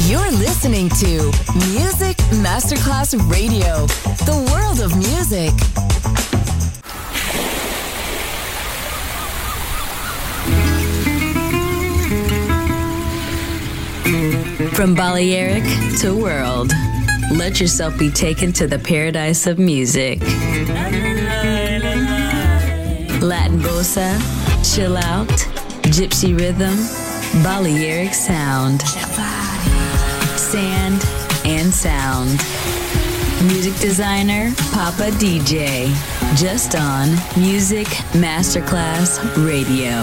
You're listening to Music Masterclass Radio, the world of music. From Balearic to world, let yourself be taken to the paradise of music. Latin bossa, chill out, gypsy rhythm, Balearic sound, sand and sound. Music designer, Papa DJ, just on Music Masterclass Radio.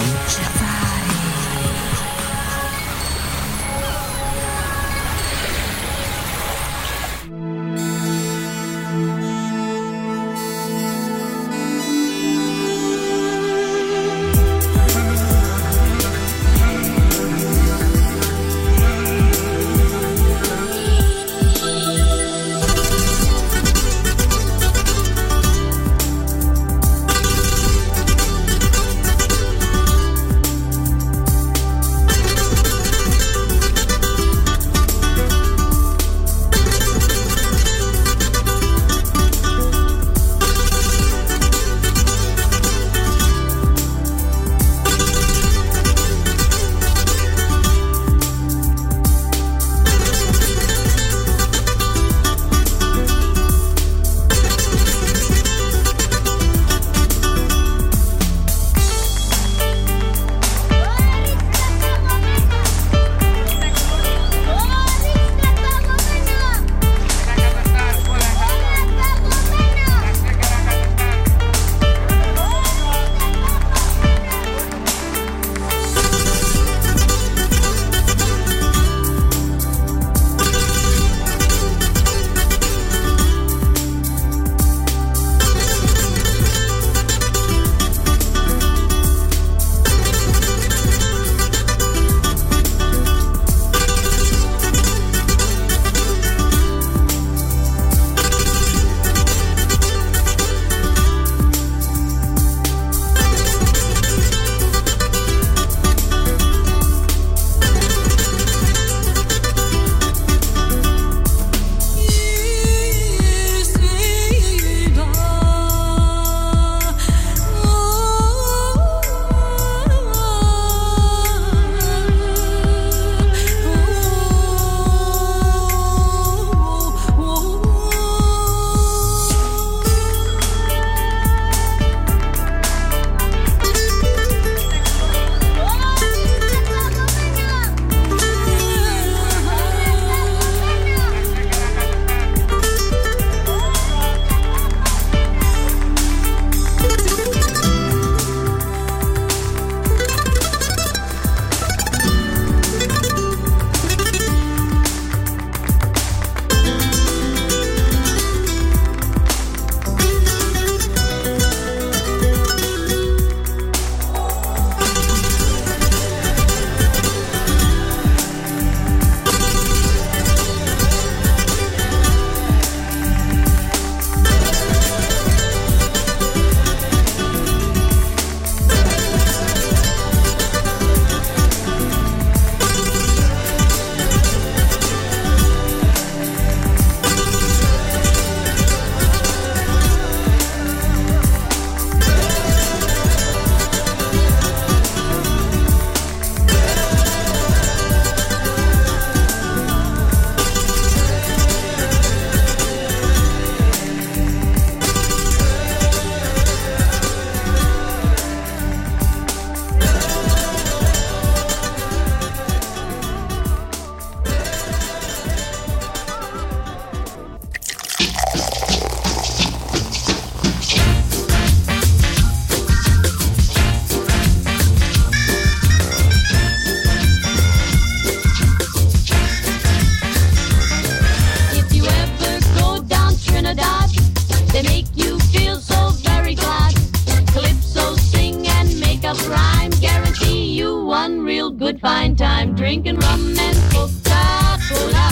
Drinking rum and Coca-Cola.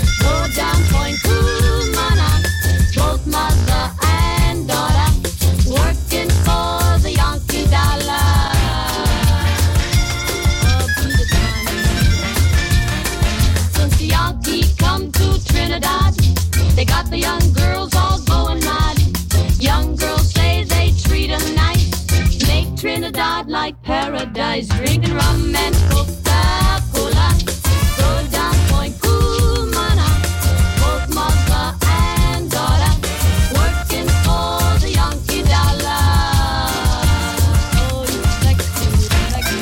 Go down Point Cumana. Both mother and daughter working for the Yankee dollar. Oh, be the time. Since the Yankee boys drinking rum and Coca-Cola. Go down Point Cumana, both mother and daughter, working for the Yankee dollar. Oh, you sexy, sexy.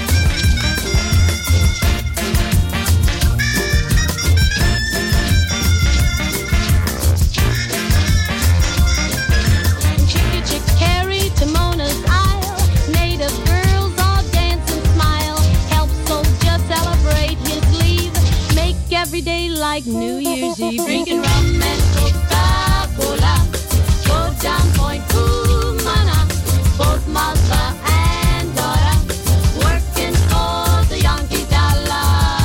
Chicky Chick Carry to Mona's Isle, native girls all dance and smile. Help soldier celebrate his leave, make every day like New Year's Eve. Drinking rum and Coca-Cola, go down Point Cumana, both mother and daughter, working for the Yankee dollar.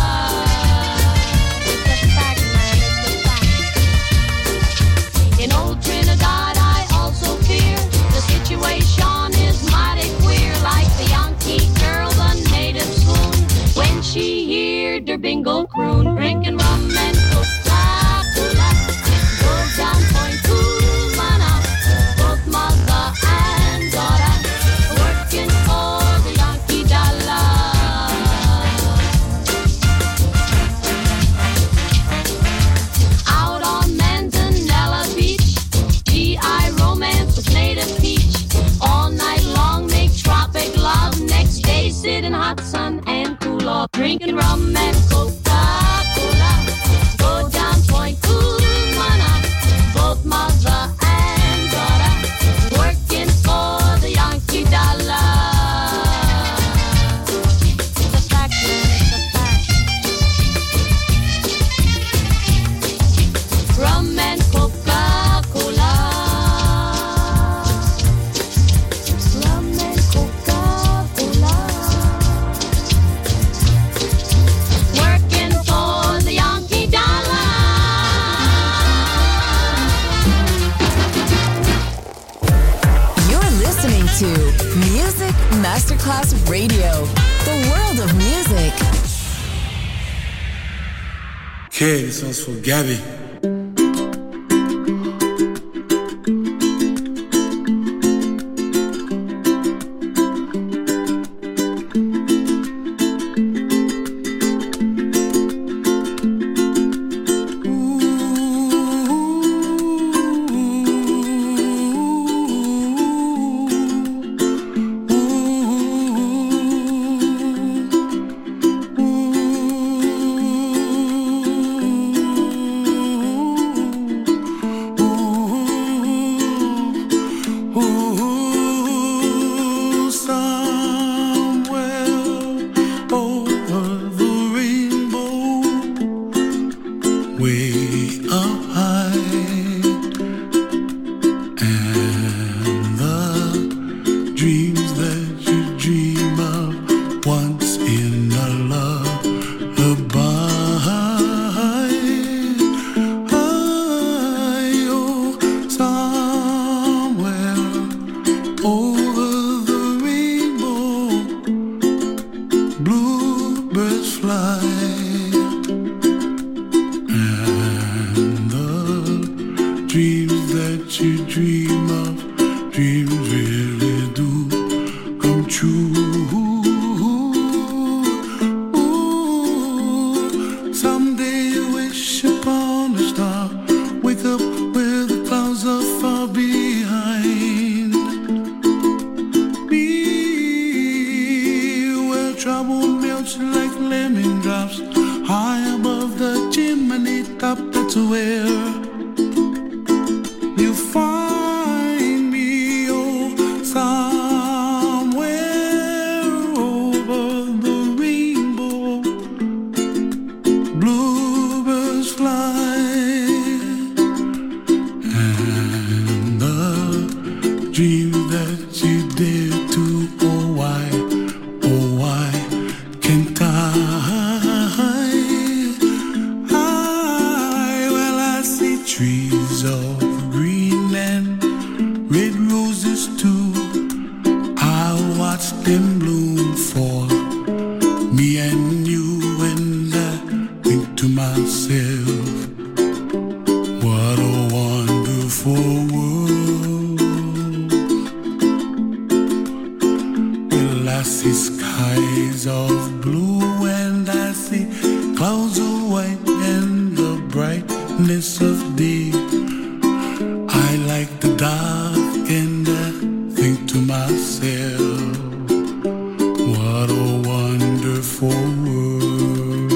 It's a fact, man, it's a fact. In old Trinidad I also fear the situation is mighty queer, like the Yankee girl, the native swoon when she heard her bingle croon. Drinking rum and Coca-Cola, go down Point Cumana, both mother and daughter, working for the Yankee dollar. Out on Manzanella Beach, GI romance with native peach. All night long make tropic love, next day sit in hot sun and cool off. Drinking rum and Coca-Cola, go down Point Cumana, both mother and daughter, working for the Yankee dollar. It's a fact, man, it's a fact. Rum and Coca-Cola, rum and Coca-Cola, working for the Yankee dollar. You're listening to Music Masterclass Radio, the world of music. Okay, this one's for Gabby. glassy sky clouds of white and the brightness of day. I like the dark and I think to myself, what a wonderful world.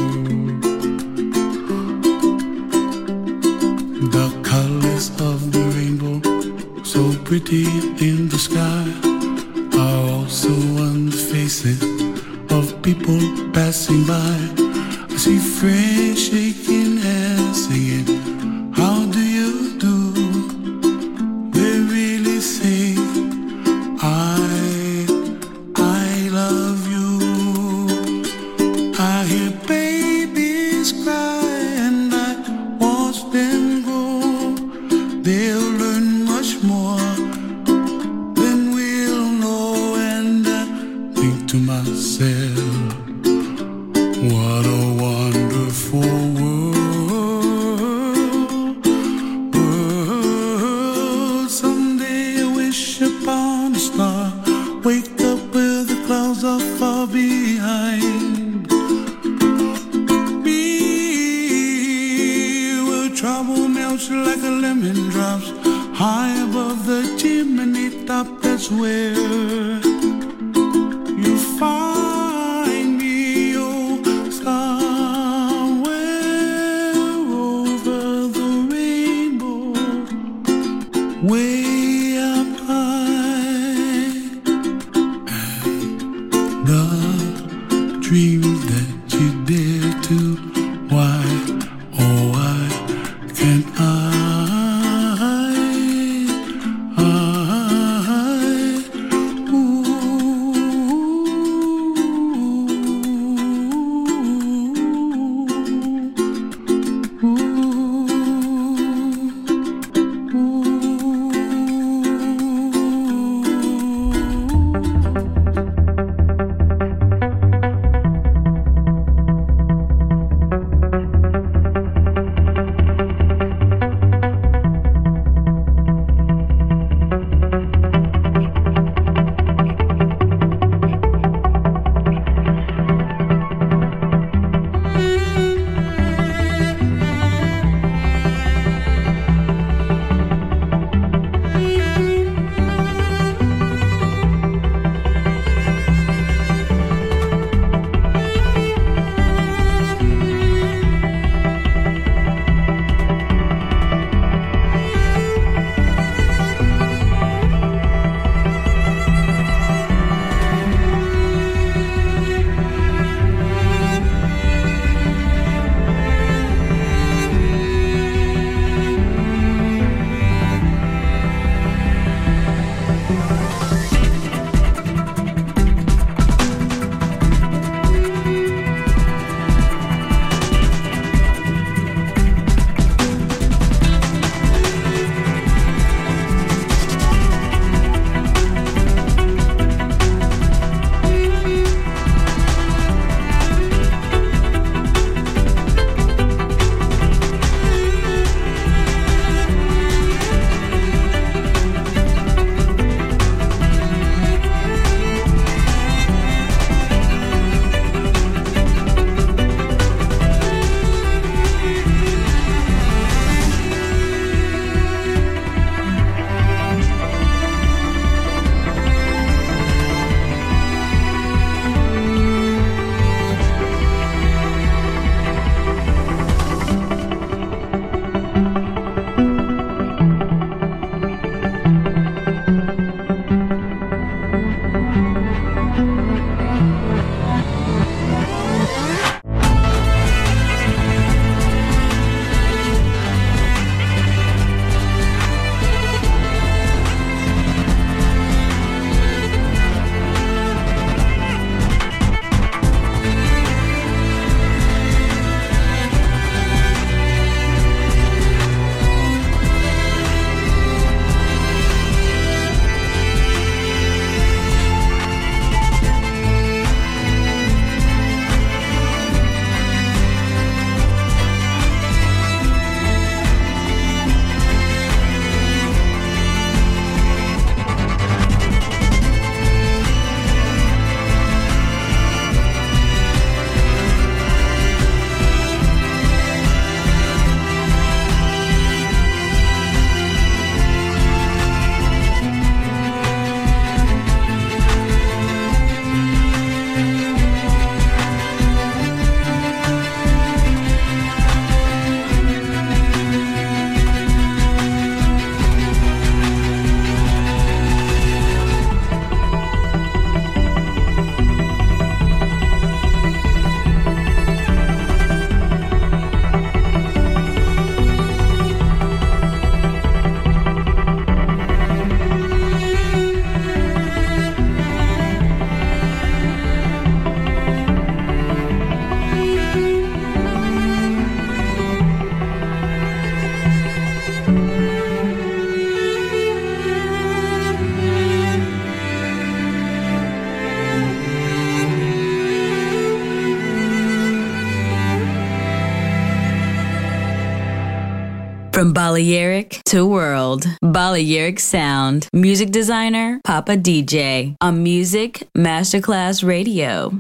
The colors of the rainbow, so pretty in the sky, are also on the faces of people passing by. I see friends shaking hands, singing, how do you do? They really say, I love you. I hear babies cry and I watch them grow. They'll learn much more than we'll know. And I think to myself, what a wonderful world. Someday I wish upon a star, wake up where the clouds are far behind me, where trouble melts like a lemon drops high above the chimney top. That's where you find me, oh, somewhere over the rainbow, way up high. And the dreams that you dare to, why, oh, why can't I? From Balearic to World, Balearic Sound. Music designer, Papa DJ. On Music Masterclass Radio.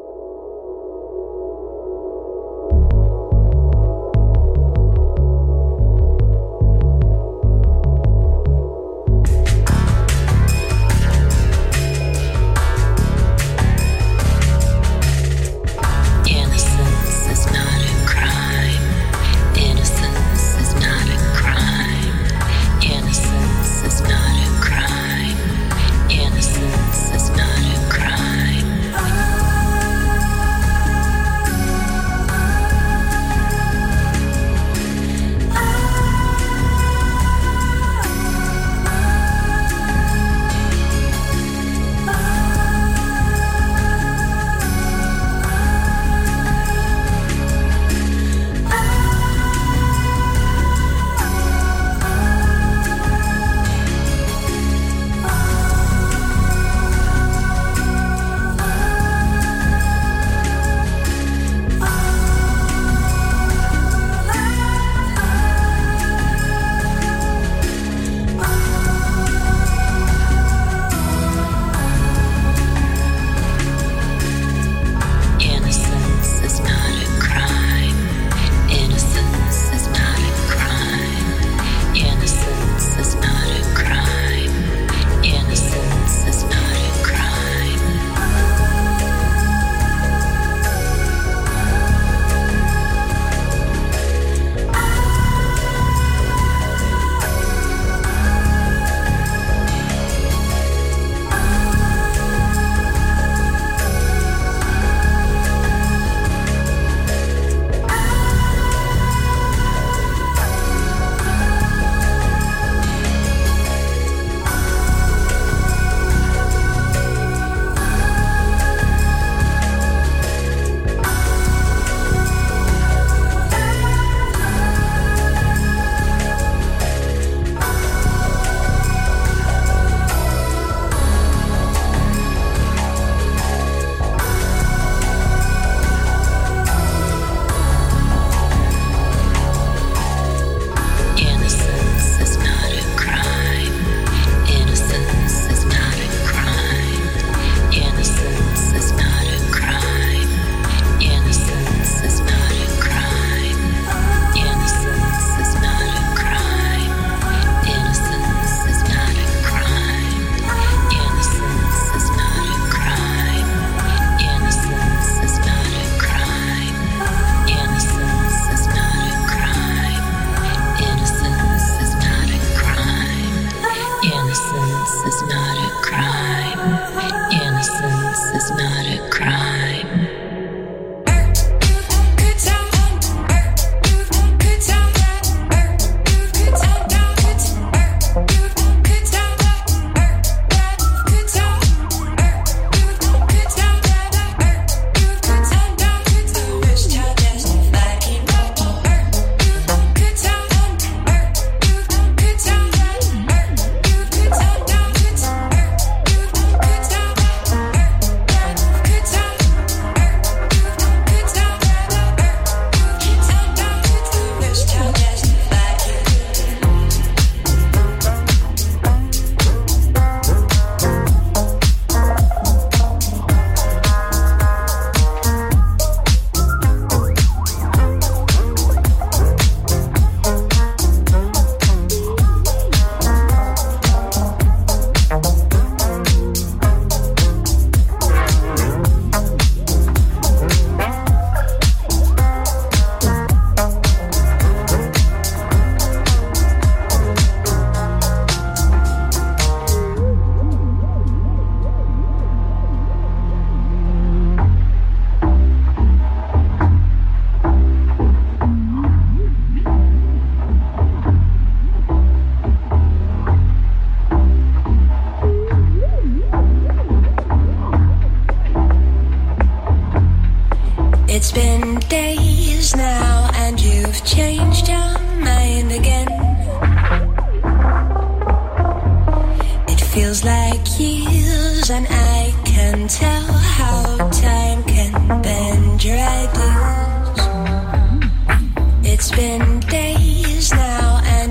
feels like years, and I can tell how time can bend your ideas. It's been days now, and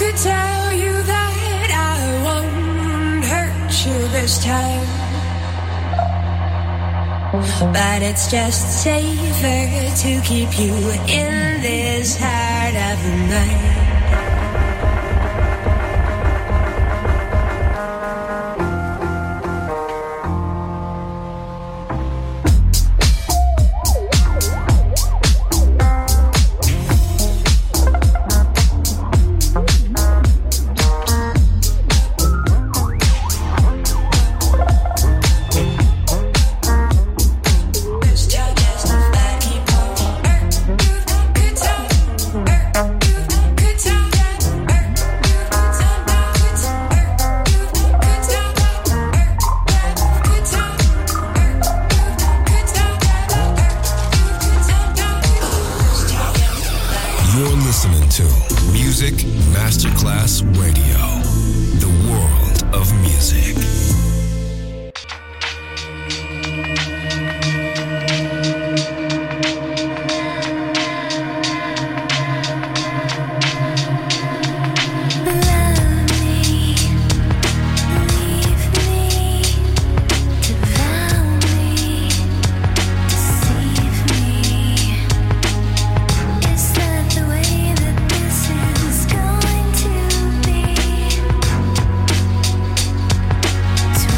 could tell you that I won't hurt you this time, but it's just safer to keep you in this heart of mine. Masterclass Radio, the world of music. To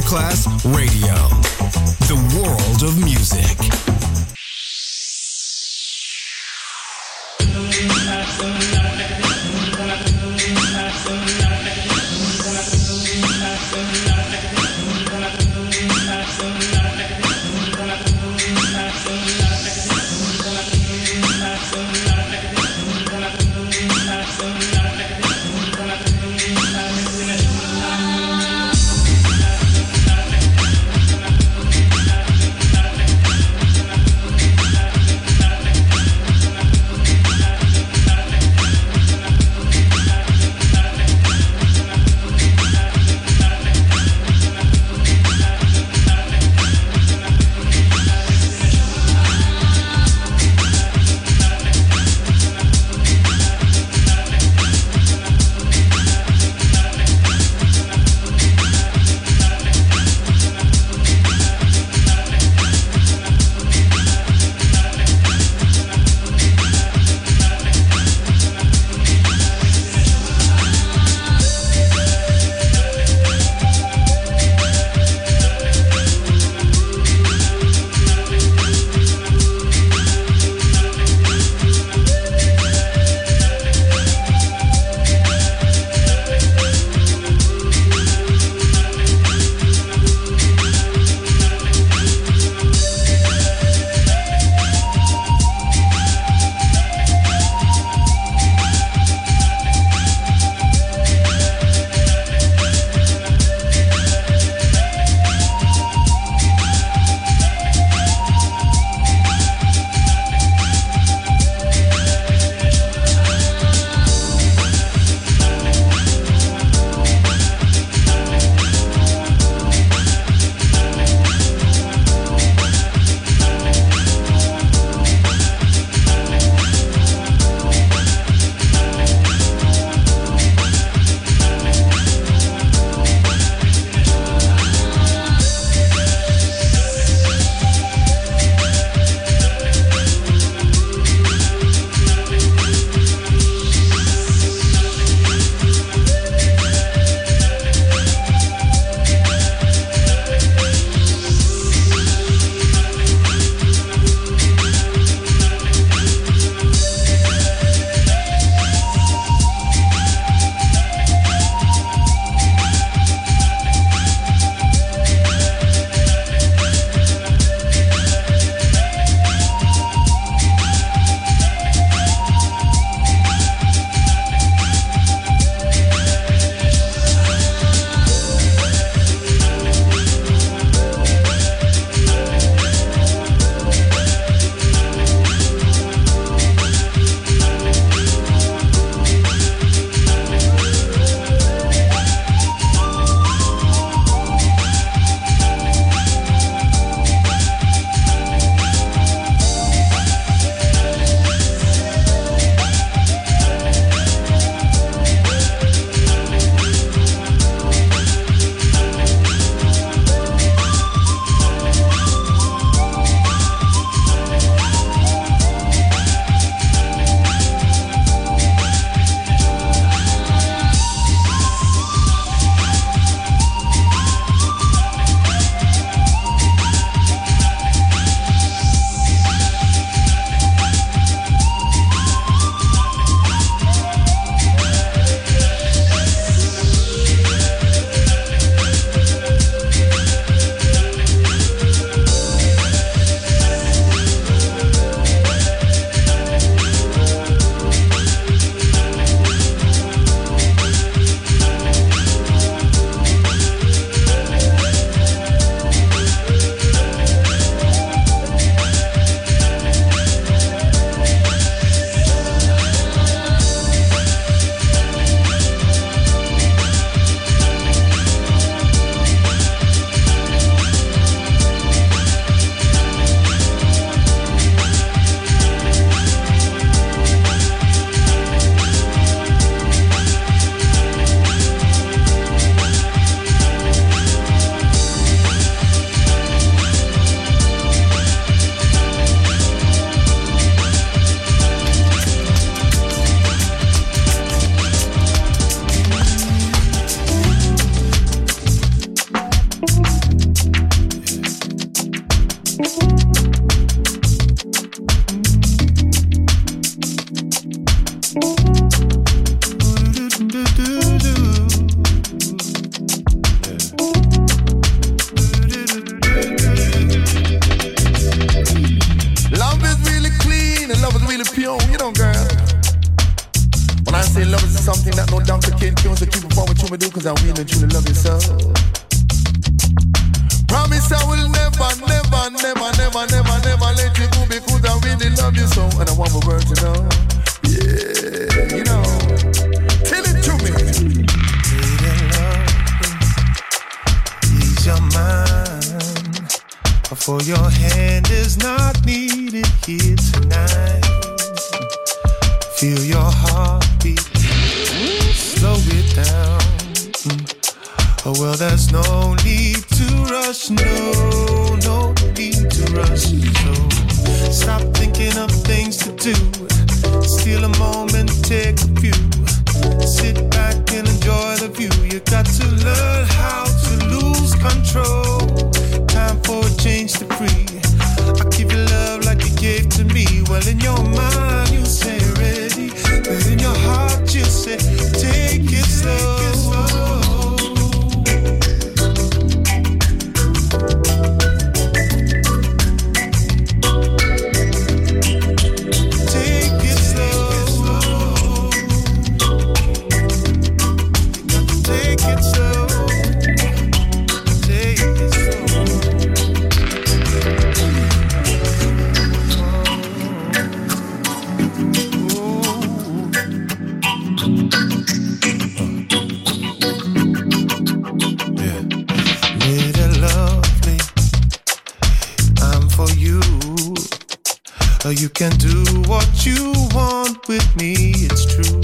Masterclass Radio, the world of music. cause I really truly love you so. Promise I will never, never, never, never, never, never let you go because I really love you so. And I want my world to know. Yeah, you know. Tell it to me. Ease your mind, for your hand is not needed here tonight. Feel your heartbeat, slow it down. Oh well, there's no need to rush, no need to rush. So stop thinking of things to do. Steal a moment, take a few. Sit back and enjoy the view. You got to learn how to lose control. Time for a change to free. I give you love like you gave to me. Well, in your mind you say ready, but in your heart you say take it slow. You can do what you want with me, it's true.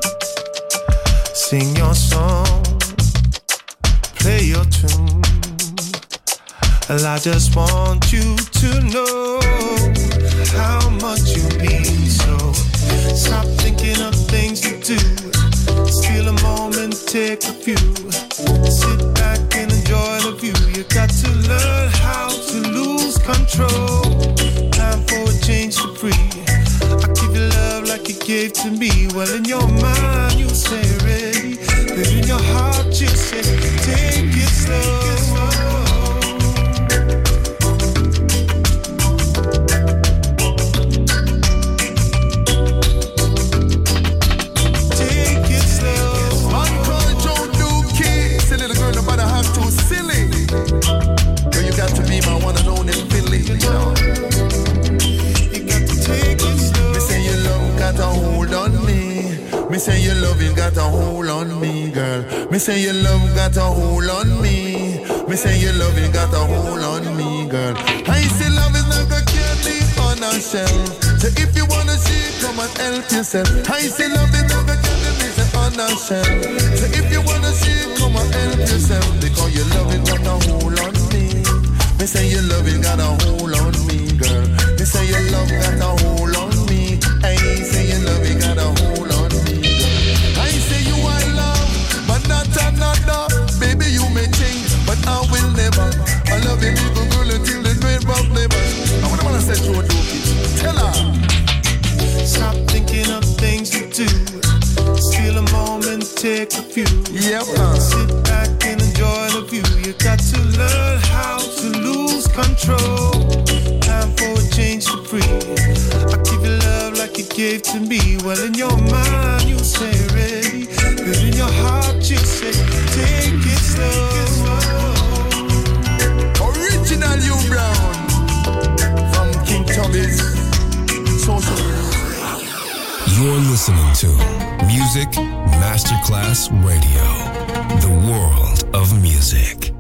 Sing your song, play your tune. Well, I just want you to know how much you mean. So stop thinking of things to do. Steal a moment, take a few. Sit back and enjoy the view. You got to learn how to lose control. Time for a change to free. I give you love like you gave to me. Well, in your mind you say ready, but in your heart you say take it slow. Take it slow. Man called Joe Dookie. Say little girl, nobody have too silly. Girl, you got to be my one and only Philly, you know. Me say your love got a hold on me. Me say your loving got a hold on me, girl. Me say your love got a hold on me. Me say your loving got a hold on me, girl. I say love is not gonna be on a shelf. So if you wanna see, come and help yourself. I say love is not gonna be on a shelf. So if you wanna see, come and help yourself. Because your loving got a hold on me. Me say your loving got a hold on me, girl. Me say your love got a hold on me. I say your loving got a hold on me, girl. I say you are love, but not another. Baby, you may change, but I will never. I love you, little girl, until the great of never. I wanna say to a dookie, tell her. Stop thinking of things to do. Steal a moment, take a few. Yep. Sit back and enjoy the view. You got to learn how to lose control. Time for a change to free. I give you love like you gave to me. Well, in your mind you say ready, but in your heart you say take it slow. Original you Brown from King Tommy's Social. You're listening to Music Masterclass Radio, the world of music.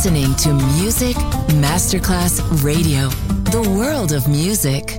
listening to Music Masterclass Radio, the world of music.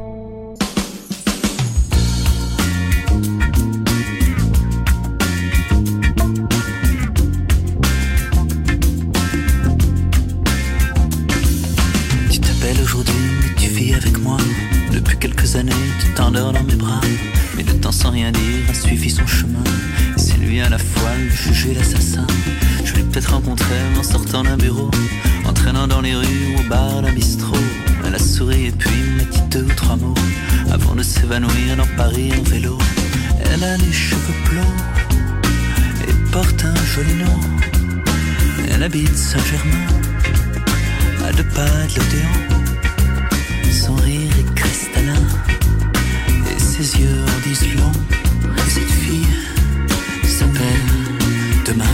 Tu t'appelles aujourd'hui, mais tu vis avec moi. Depuis quelques années, tu t'endors dans mes bras. Mais le temps sans rien dire a suivi son chemin. Et c'est lui à la fois le juge et l'assassin. Je l'ai peut-être rencontré en sortant d'un bureau, en traînant dans les rues ou au bar d'un bistrot. Elle a souri et puis m'a dit 2 ou 3 mots avant de s'évanouir dans Paris en vélo. Elle a les cheveux blonds et porte un joli nom. Elle habite Saint-Germain, à 2 pas de l'Odéon. Son rire est cristallin et ses yeux en disent long. Cette fille s'appelle Demain.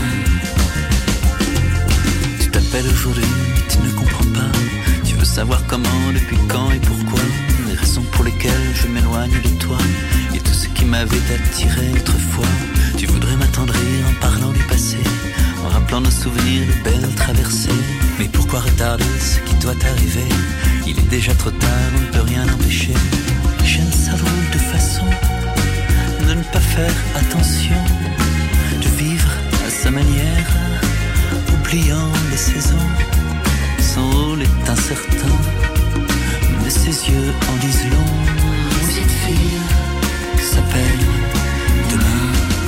Tu t'appelles aujourd'hui, mais tu ne comprends pas. Tu veux savoir comment, depuis quand et pourquoi. Les raisons pour lesquelles je m'éloigne de toi et tout ce qui m'avait attiré autrefois. Tu voudrais m'attendrir en parlant du passé, en rappelant nos souvenirs de belles traversées. Mais pourquoi retarder ce qui doit arriver? Il est déjà trop tard, on ne peut rien empêcher. J'aime sa drôle de façon de ne pas faire attention, de vivre à sa manière, oubliant les saisons. Son rôle est incertain, mais ses yeux en disent long. Cette fille s'appelle Demain.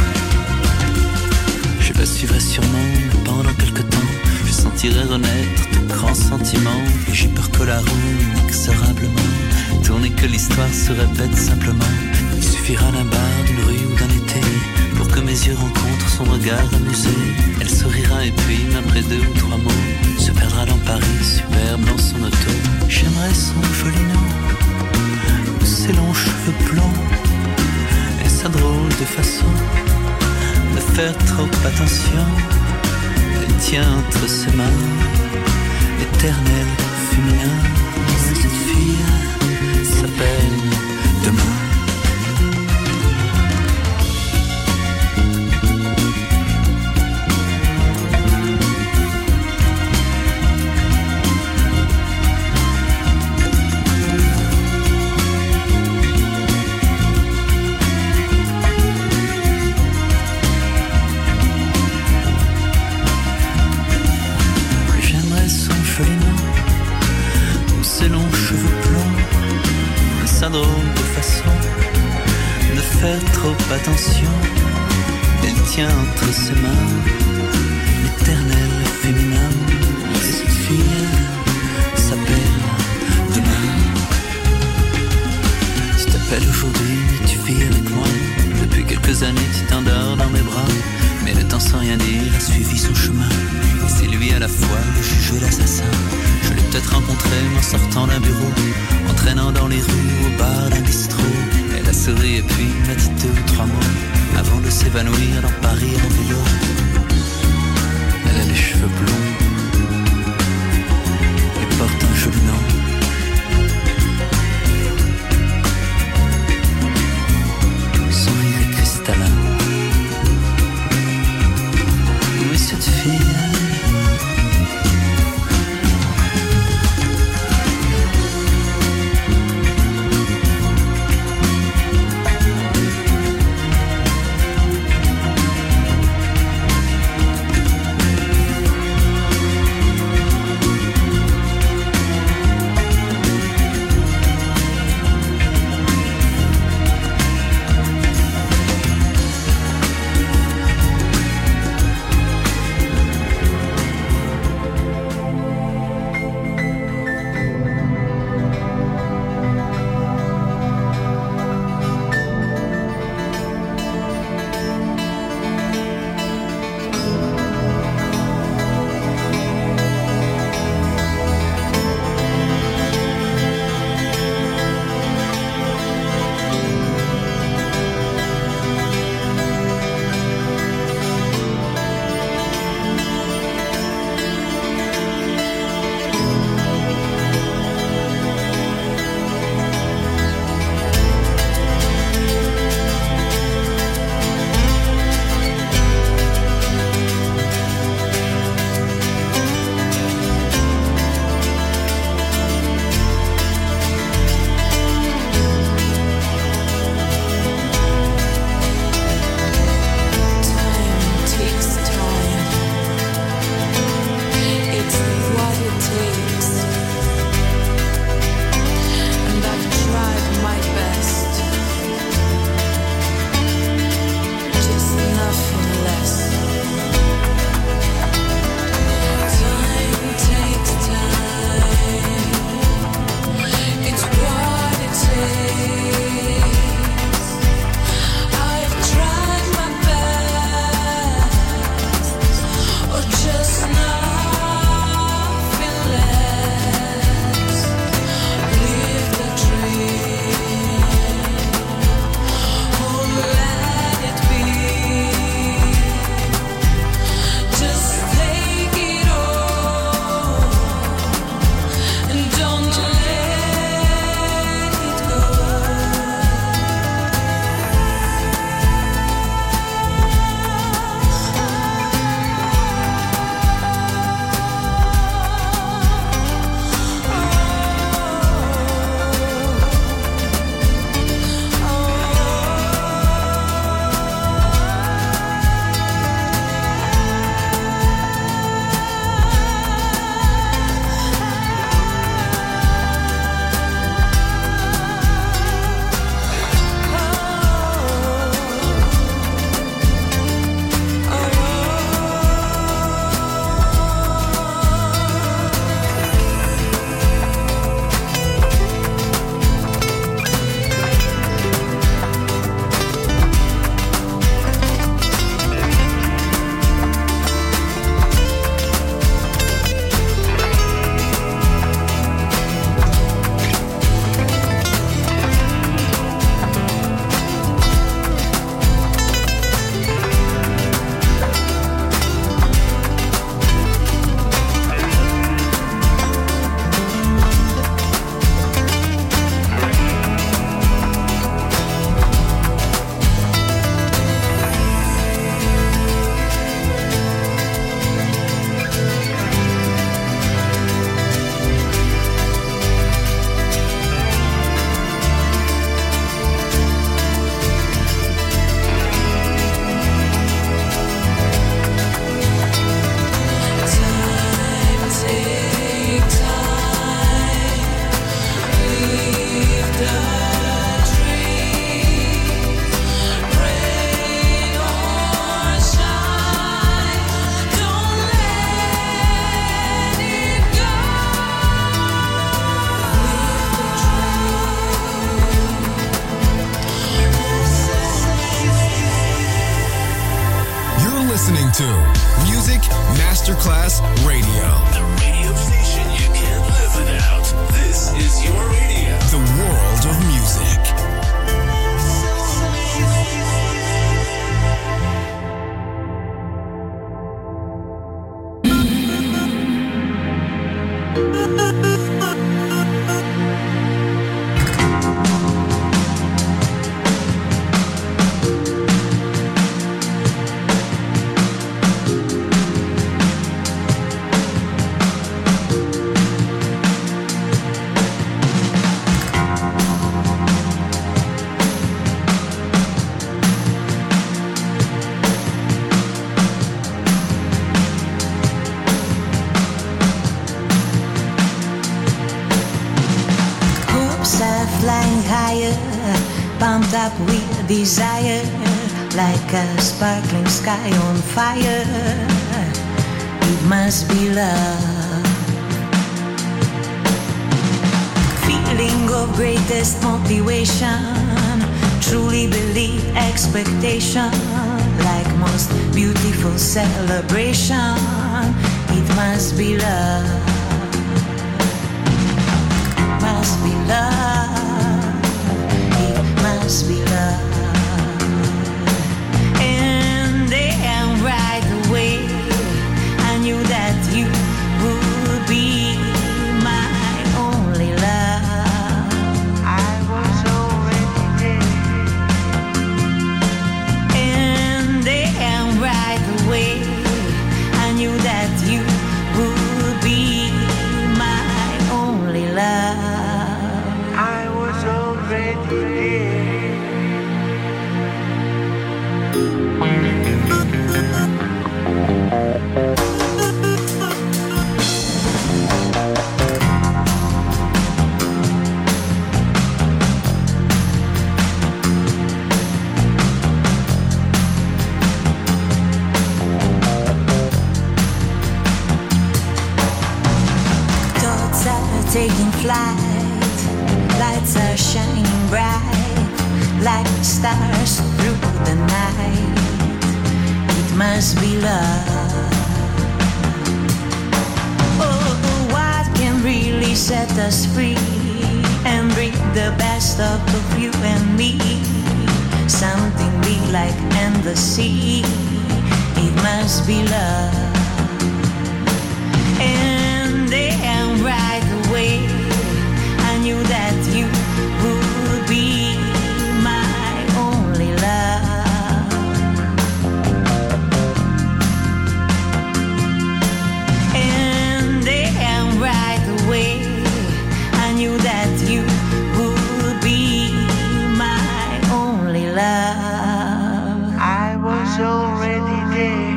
Je la suivrai sûrement, mais pendant quelque temps je sentirai renaître de grands sentiments. Et j'ai peur que la roue inexorablement tourne et que l'histoire se répète simplement. Il suffira d'un bar, d'une rue ou d'un été pour que mes yeux rencontrent son regard amusé. Elle sourira et puis, après 2 ou 3 mots, se perdra dans Paris, superbe dans son auto. J'aimerais son joli nom, ses longs cheveux blonds et sa drôle de façon de faire trop attention. Elle tient entre ses mains l'éternel féminin. Cette fille s'appelle Demain. Drôle de façon de faire trop attention. Elle tient entre ses mains l'éternel féminin. Cette fille s'appelle Demain. Tu t'appelles aujourd'hui et tu vis avec moi. Depuis quelques années tu t'endors dans mes bras. Mais le temps sans rien dire a suivi son chemin. Et c'est lui à la fois le juge et l'assassin. Je l'ai peut-être rencontré en sortant d'un bureau, en traînant dans les rues ou au bar d'un bistrot. Elle a souri et puis m'a dit 2 ou 3 mots avant de s'évanouir dans Paris en vélo. Elle a les cheveux blonds et porte un joli nom. Son rire est cristallin. Oui, cette fille Music Masterclass Radio. The radio station you can't live without. This is your radio. The world of music. Pumped up with desire, like a sparkling sky on fire. It must be love. Feeling of greatest motivation, truly believe expectation, like most beautiful celebration. It must be love. Must be love. Must be love. And then right away I knew that you would be my only love. I was already there. And then right away I knew that you would be my only love. I was already there. Thoughts are taking flight, lights are shining bright, like stars through the night. It must be love. Oh, what can really set us free and bring the best out of you and me? Something big like endless sea. It must be love. And then right away I knew that you would be my only love. And then right away I knew that you would be my only love. I was already there.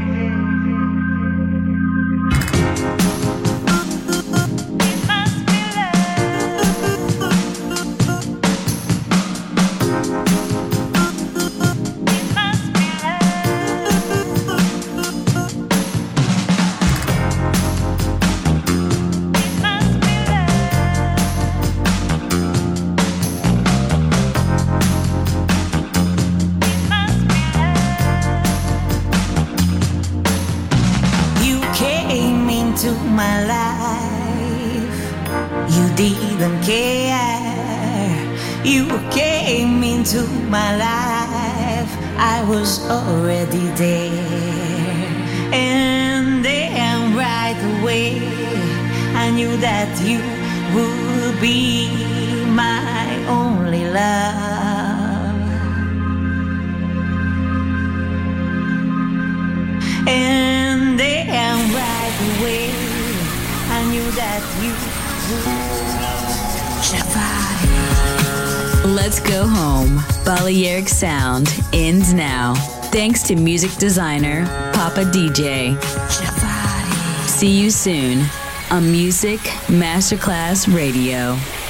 My life, you didn't care. You came into my life, I was already there. And then right away I knew that you would be my only love. And then right away I knew that you would. Let's go home. Balearic Sound ends now. Thanks to music designer Papa DJ. See you soon on Music Masterclass Radio.